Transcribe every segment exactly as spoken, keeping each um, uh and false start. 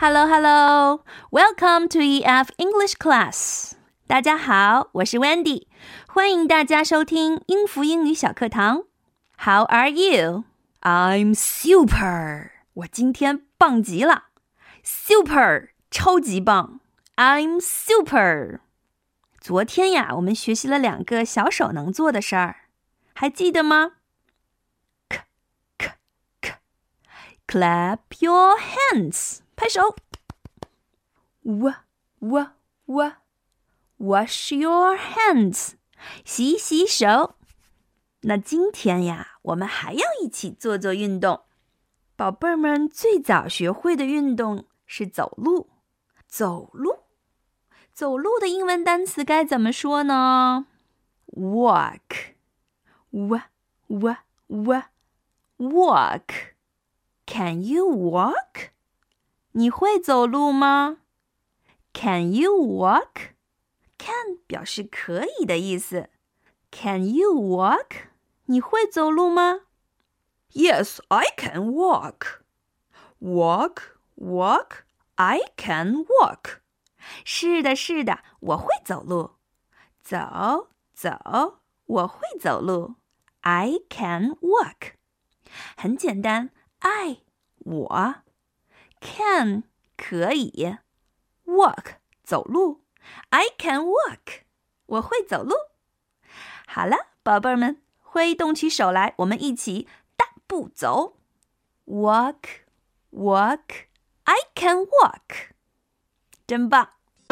Hello, hello. Welcome to E F English Class. 大家好，我是 Wendy， 欢迎大家收听英孚英语小课堂。How are you? I'm super. 我今天棒极了。Super, 超级棒。I'm super. 昨天呀，我们学习了两个小手能做的事儿，还记得吗？ K, K, K. Clap your hands. 拍手。W, W, W. Wash your hands. 洗洗手。那今天呀，我们还要一起做做运动。宝贝儿们最早学会的运动是走路。走路。走路的英文单词该怎么说呢？ Walk. W, W, W. Walk. Can you walk? 你会走路吗？ Can you walk? Can 表示可以的意思。Can you walk? 你会走路吗？ Yes, I can walk. Walk, walk, I can walk. 是的，是的，我会走路。走，走，我会走路。I can walk. 很简单 I, 我 Can, 可以 Walk, 走路I can walk. 我会走路。好了，宝贝儿们，挥动起手来，我们一起大步走。Walk, walk, I can walk. 真棒。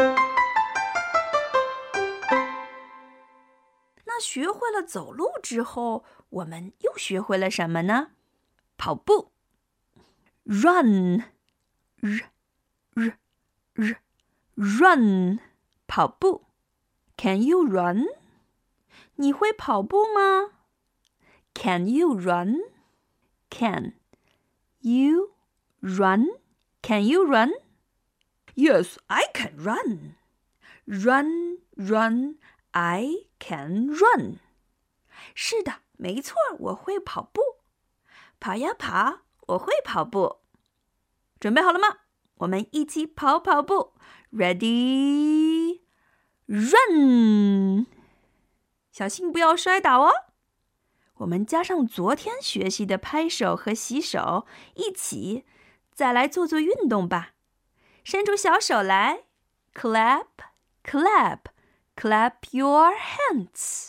那学会了走路之后，我们又学会了什么呢？跑步。Run, r, r, r, run, 跑步。Can you run? 你会跑步吗？ Can you run? Can you run? Can you run? Yes, I can run. Run, run, I can run. 是的，没错，我会跑步。跑呀跑，我会跑步。准备好了吗？我们一起跑跑步。Ready, run! 小心不要摔倒哦。我们加上昨天学习的拍手和洗手，一起再来做做运动吧。伸出小手来 Clap, clap, clap your hands.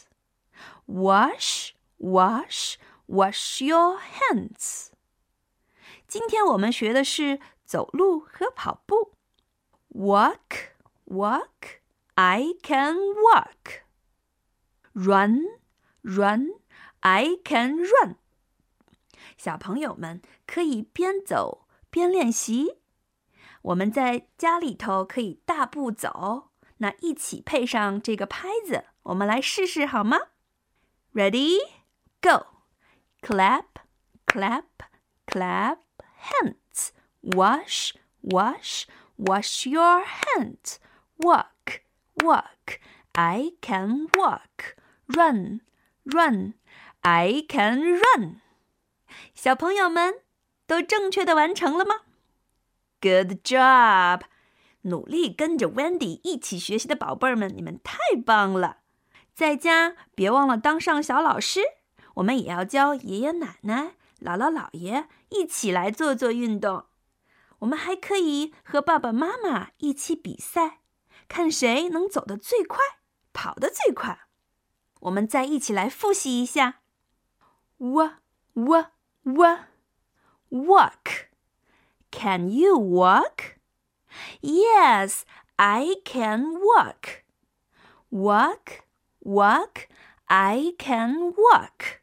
Wash, wash, wash your hands. 今天我们学的是走路和跑步。Walk, walk, I can walk. Run, run, I can run. 小朋友们可以边走边练习。我们在家里头可以大步走，那一起配上这个拍子，我们来试试好吗？ Ready, go. Clap, clap, clap, hands. Wash, wash, wash your hands. Walk, walk, I can walk. Run, run, I can run. 小朋友们都正确的完成了吗？ Good job! 努力跟着 Wendy 一起学习的宝贝儿们，你们太棒了。在家别忘了当上小老师，我们也要教爷爷奶奶、姥姥姥爷一起来做做运动。我们还可以和爸爸妈妈一起比赛，看谁能走得最快，跑得最快。我们再一起来复习一下。W, w, w, walk. Can you walk? Yes, I can walk. Walk, walk, I can walk.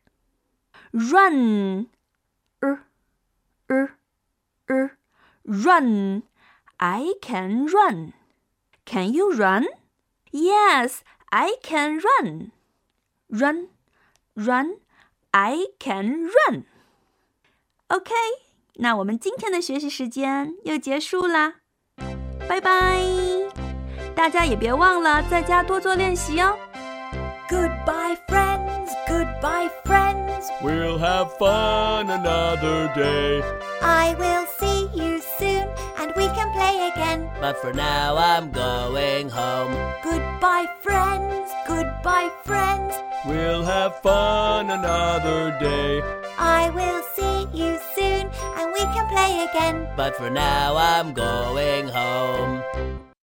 Run, r, r, r, run, I can run. Can you run? Yes, I can run. Run, run, I can run. OK, 那我们今天的学习时间又结束啦，拜拜！大家也别忘了在家多做练习哦。 Goodbye, friends. Goodbye, friends. We'll have fun another day. I will see you soon, and we can play but for now I'm going home. Goodbye, friends, goodbye, friends. We'll have fun another day, I will see you soon and we can play again. but for now I'm going home.